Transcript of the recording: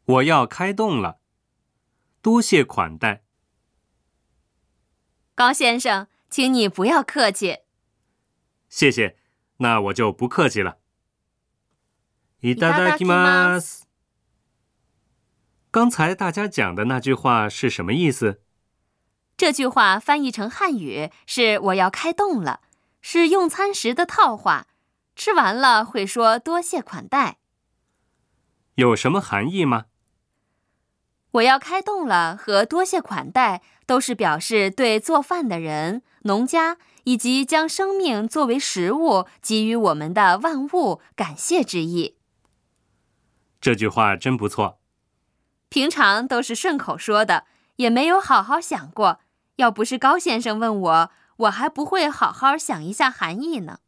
我要开动了，多谢款待。 高先生，请你不要客气。 谢谢，那我就不客气了。いただきます。刚才大家讲的那句话是什么意思？ 这句话翻译成汉语是我要开动了，是用餐时的套话，吃完了会说多谢款待。 有什么含义吗？ 我要开动了和多谢款待都是表示对做饭的人、农家以及将生命作为食物给予我们的万物感谢之意。 这句话真不错。 平常都是顺口说的，也没有好好想过。要不是高先生问我，我还不会好好想一下含义呢。